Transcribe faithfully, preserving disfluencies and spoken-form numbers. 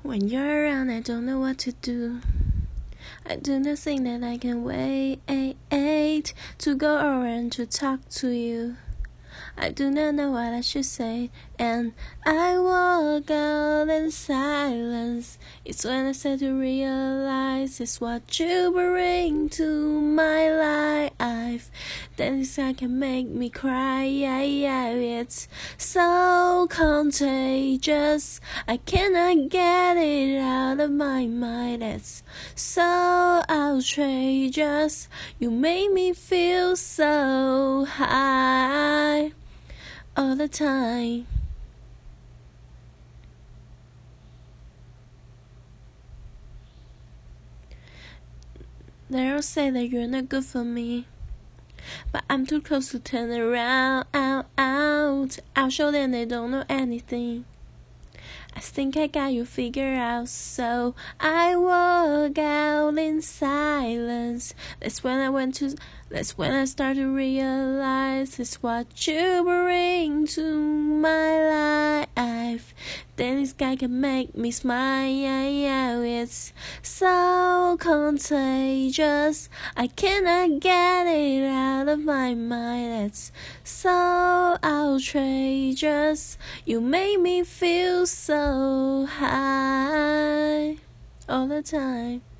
When you're around, I don't know what to do. I do not think that I can wait to go around to talk to you. I do not know what I should say, and I walk out in silence. It's when I start to realize it's what you bring to my life. Then this guy can make me cry. It's so contagious. I cannot get it out of my mind. It's so outrageous. You make me feel so high all the time. They'll say that you're not good for me, but I'm too close to turn around. Out, out. I'll show them they don't know anything. I think I got you figured out, so I walk out in silence. That's when I went to, that's when I started to realize it's what you bring to my life. Then this guy can make me smile. It's so contagious. I cannot get it out of my mind. It's so outrageous. You make me feel so high all the time.